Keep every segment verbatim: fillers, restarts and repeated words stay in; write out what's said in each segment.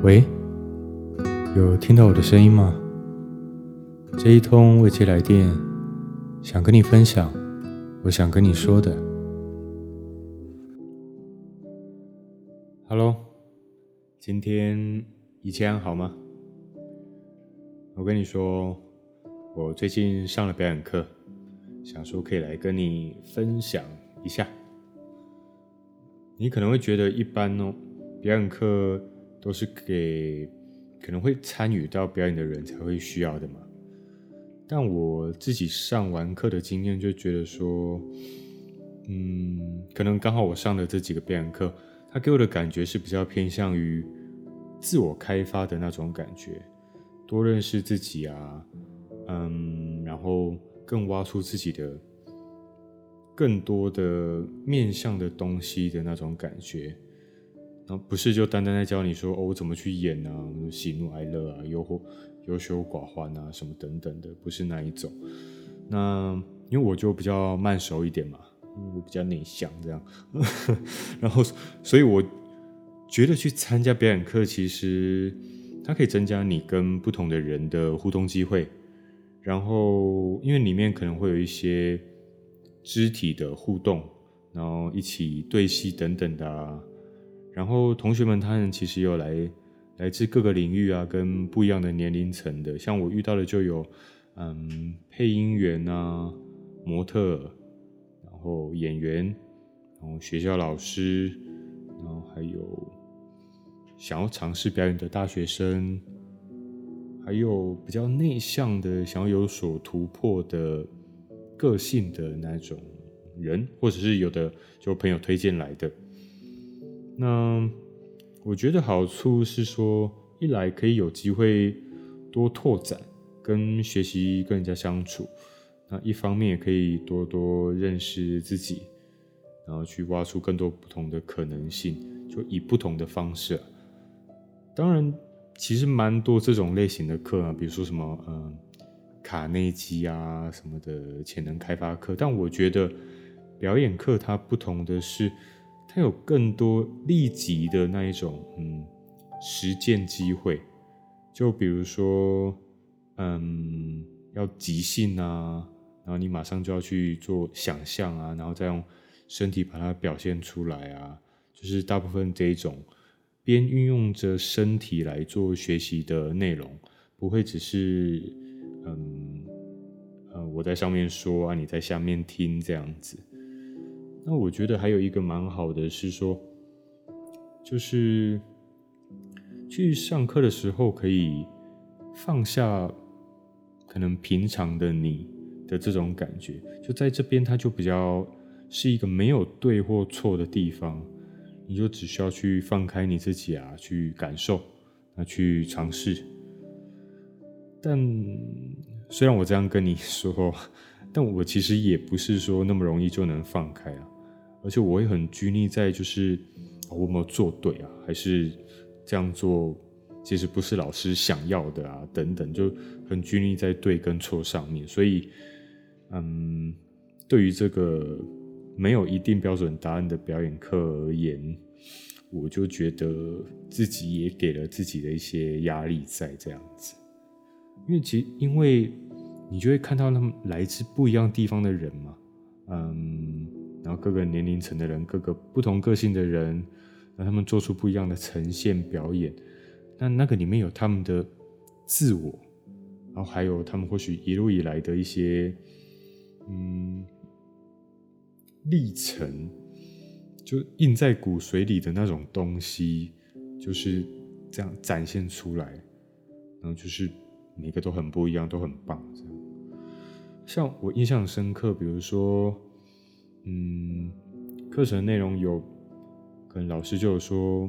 喂，有聽到我的聲音嗎？這一通未接來電，想跟你分享我想跟你說的。Hello，今天一切安好嗎？我跟你說，我最近上了表演課，想說可以來跟你分享一下。你可能會覺得一般哦，表演課都是給可能會參與到表演的人才會需要的嘛。但我自己上完課的經驗就覺得說，嗯，可能剛好我上的這幾個表演課，它給我的感覺是比較偏向於自我開發的那種感覺，多認識自己啊，嗯，然後更挖出自己的更多的面向的東西的那種感覺。然後不是就單單在教你說哦，我怎麼去演啊，喜怒哀樂啊，憂或憂羞寡歡啊，什麼等等的，不是那一種。那因為我就比較慢熟一點嘛，我比較內向這樣，然後所以我覺得去參加表演課，其實它可以增加你跟不同的人的互動機會。然後因為裡面可能會有一些肢體的互動，然後一起對戲等等的啊。然後同學們他們其實有來來自各個領域啊，跟不一樣的年齡層的，像我遇到的就有嗯配音員啊、模特兒，然後演員，然後學校老師，然後還有想要嘗試表演的大學生，還有比較內向的想要有所突破的個性的那種人，或者是有的就朋友推薦來的。那我覺得好處是說，一來可以有機會多拓展跟學習跟人家相處，那一方面也可以多多認識自己，然後去挖出更多不同的可能性，就以不同的方式啊。當然其實蠻多這種類型的課啊，比如說什麼嗯卡內基啊什麼的潛能開發課，但我覺得表演課它不同的是，它有更多立即的那一種嗯實踐機會，就比如說嗯要即興啊，然後你馬上就要去做想象啊，然後再用身體把它表現出來啊，就是大部分這一種邊運用着身體來做學習的內容，不會只是嗯呃我在上面說啊，你在下面聽這樣子。那我覺得還有一個蠻好的是說，就是去上課的時候可以放下可能平常的你的這種感覺，就在這邊它就比較是一個沒有對或錯的地方，你就只需要去放開你自己啊，去感受，那去嘗試。但雖然我這樣跟你說，但我其實也不是說那麼容易就能放開啊。而且我會很拘泥在就是我有沒有做對啊，還是這樣做其實不是老師想要的啊，等等，就很拘泥在對跟錯上面。所以，嗯，對於這個沒有一定標準答案的表演課而言，我就覺得自己也給了自己的一些壓力在這樣子。因為其實因為你就會看到他們來自不一樣地方的人嘛，嗯。然後各個年齡層的人，各個不同個性的人，讓他們做出不一樣的呈現表演。那那個裡面有他們的自我，然後還有他們或許一路以來的一些嗯歷程，就印在骨髓裡的那種東西，就是這樣展現出來。然後就是每個都很不一樣，都很棒。這樣，像我印象很深刻，比如說。嗯，課程內容有，可能老師就有說，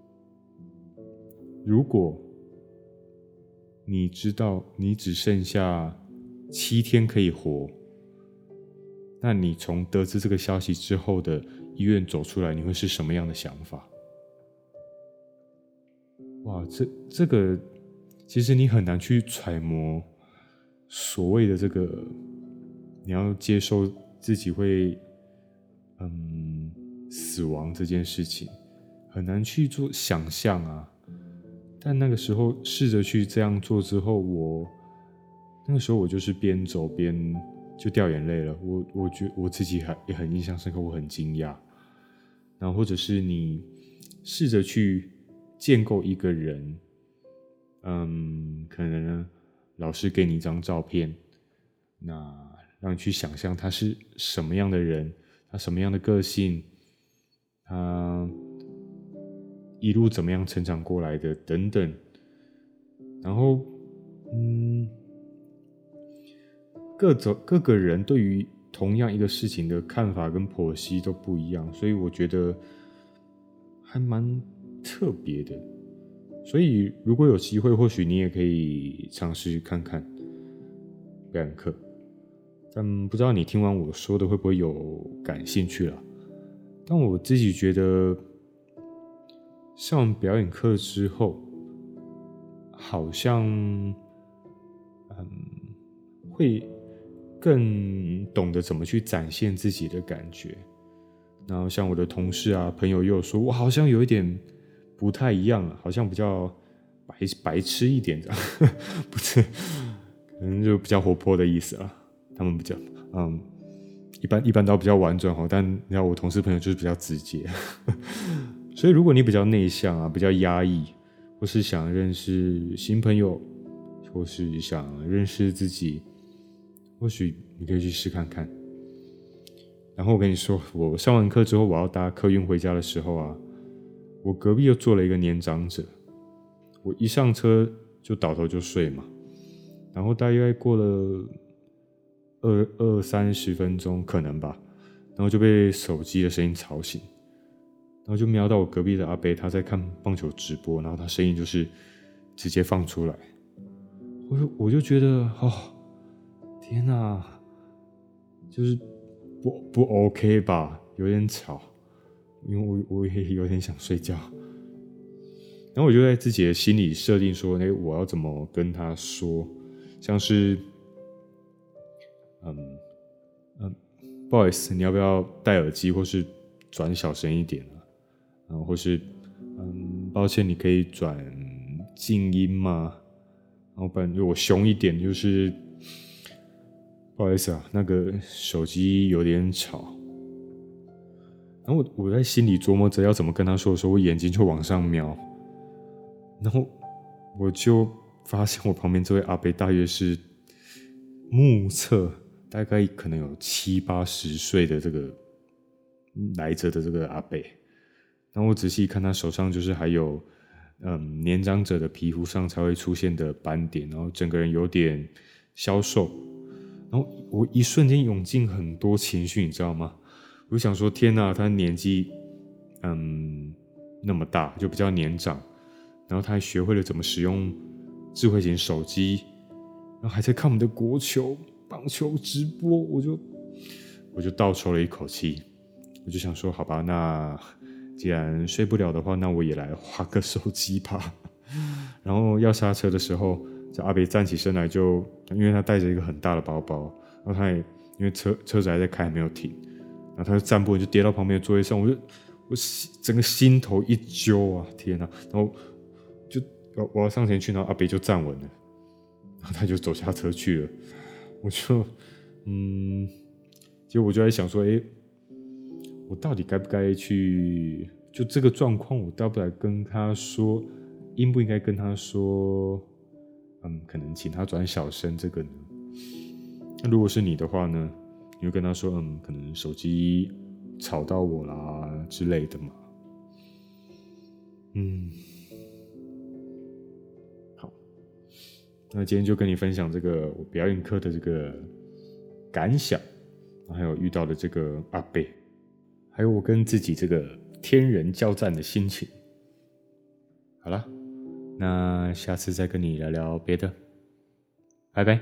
如果你知道你只剩下七天可以活，那你從得知這個消息之後的醫院走出來，你會是什麼樣的想法？哇，這這個其實你很難去揣摩所謂的這個，你要接受自己會。嗯，死亡這件事情很難去做想象啊。 但那個時候試着去這樣做之後，我那個時候我就是邊走邊就掉眼淚了。我我覺得我自己還也很印象深刻，我很驚訝。然後或者是你試着去建構一個人，嗯，可能呢老師給你一張照片，那讓你去想象他是什麼樣的人，他什麼樣的個性，他一路怎麼樣成長過來的等等。然後，嗯，各種各個人對於同樣一個事情的看法跟剖析都不一樣，所以我覺得還蠻特別的。所以如果有機會，或許你也可以嘗試看看表演課。但不知道你聽完我說的會不會有感興趣啦。但我自己覺得上完表演課之後，好像嗯會更懂得怎麼去展現自己的感覺。然後像我的同事啊朋友又有說，我好像有一點不太一樣了，好像比較白白痴一點這樣，不是，可能就比較活潑的意思啦。他們比較嗯，一般一般都比較婉轉，但你知道我同事朋友就是比較直接。所以如果你比較內向啊，比較壓抑，或是想認識新朋友，或是想認識自己，或許你可以去試看看。然後我跟你說，我上完課之後，我要搭客運回家的時候啊，我隔壁又坐了一個年長者，我一上車就倒頭就睡嘛，然後大約過了二二三十分鐘可能吧，然後就被手機的聲音吵醒，然後就瞄到我隔壁的阿伯他在看棒球直播，然後他聲音就是直接放出來，我就我就覺得哦，天哪，就是不不 OK 吧，有點吵，因為我我也有點想睡覺，然後我就在自己的心裡設定說，哎，我要怎麼跟他說，像是。嗯嗯，不好意思，你要不要戴耳機，或是轉小聲一點啊？然後或是嗯，抱歉，你可以轉靜音嗎？然後不然就我凶一點，就是不好意思啊，那個手機有點吵。然後我我在心裡琢磨着要怎麼跟他說的時候，我眼睛就往上瞄，然後我就發現我旁邊這位阿伯大約是目測。大概可能有七八十歲的這個來着的這個阿伯，然後我仔細一看，他手上就是還有嗯年長者的皮膚上才會出現的斑點，然後整個人有點消瘦，然後我一瞬間湧進很多情緒，你知道嗎？我就想說，天哪，他年紀嗯那麼大，就比較年長，然後他還學會了怎麼使用智慧型手機，然後還在看我們的國球。棒球直播，我就我就倒抽了一口氣，我就想說，好吧，那既然睡不了的話，那我也來滑個手機吧。然後要剎車的時候，這阿伯站起身來就，就因為他帶着一個很大的包包，然後他也因為車車子還在開，還沒有停，然後他就站不穩，就跌到旁邊的座位上，我就我整個心頭一揪啊，天哪！然後就我要上前去，然後阿伯就站穩了，然後他就走下車去了。我就，嗯，結果我就在想說，誒，我到底該不該去？就這個狀況，我該不該跟他說？應不應該跟他說？嗯，可能請他轉小聲這個呢？那如果是你的話呢？你會跟他說，嗯，可能手機吵到我啦之類的嘛？嗯。那今天就跟你分享這個我表演課的這個感想，還有遇到的這個阿伯，還有我跟自己這個天人交戰的心情。好了，那下次再跟你聊聊別的，拜拜。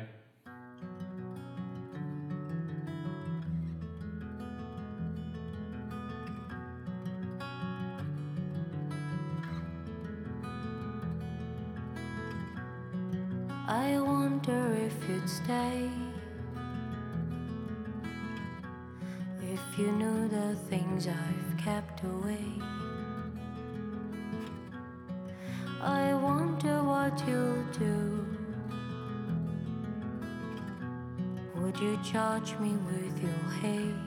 I wonder if you'd stay, if you knew the things I've kept away. I wonder what you'll do? Would you charge me with your hate?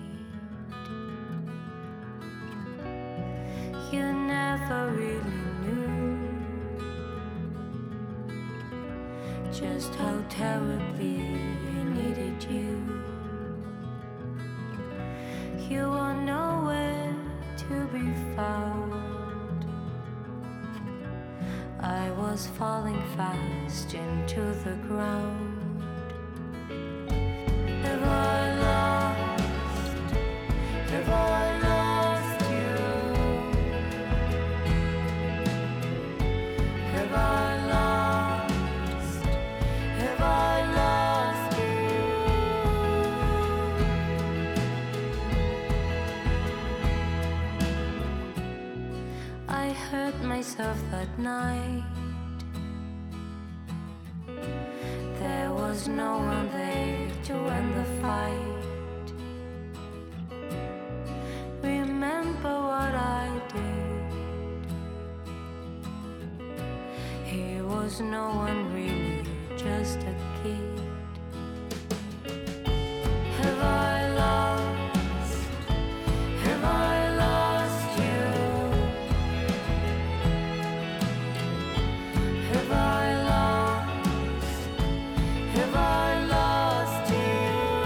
You never really knew just how terribly I needed you. You were nowhere to be found. I was falling fast into the ground. Have I lost? Have I lost you? Have I lost? Have I lost you? I hurt myself that night. There was no one there to end the fight. Remember what I did. He was no one really, just a kid. Have I lost? Have I lost you? Have I lost? Have I lost you?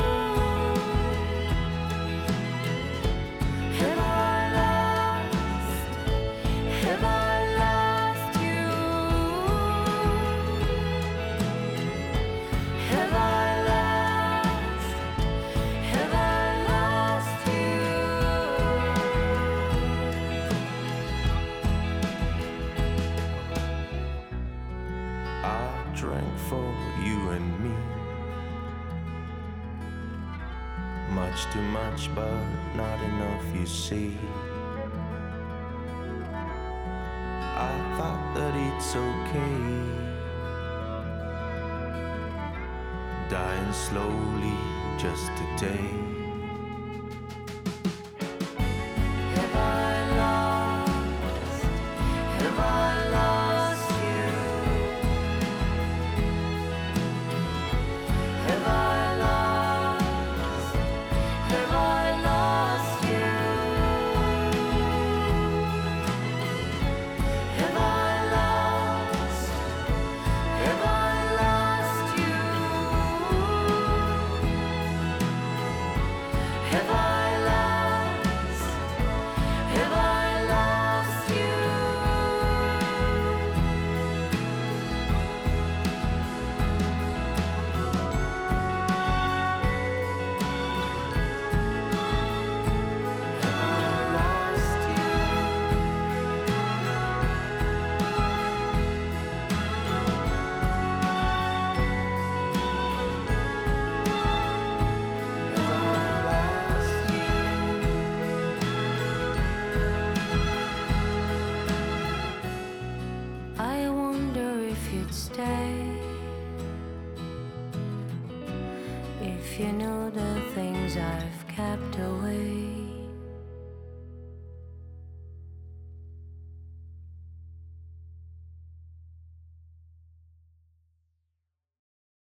Have I lost? Have I lost you? Have I lost? Have I lost you? I drank for you and me, much too much, but not enough, you see. I thought that it's okay, dying slowly just today. Have I lost? Have I lost you? Have I lost? Have I lost you? Have I lost? Have I lost you? Have I lost? Have I lost you? Have I lost I wonder if you'd stay if you knew the things I've kept away.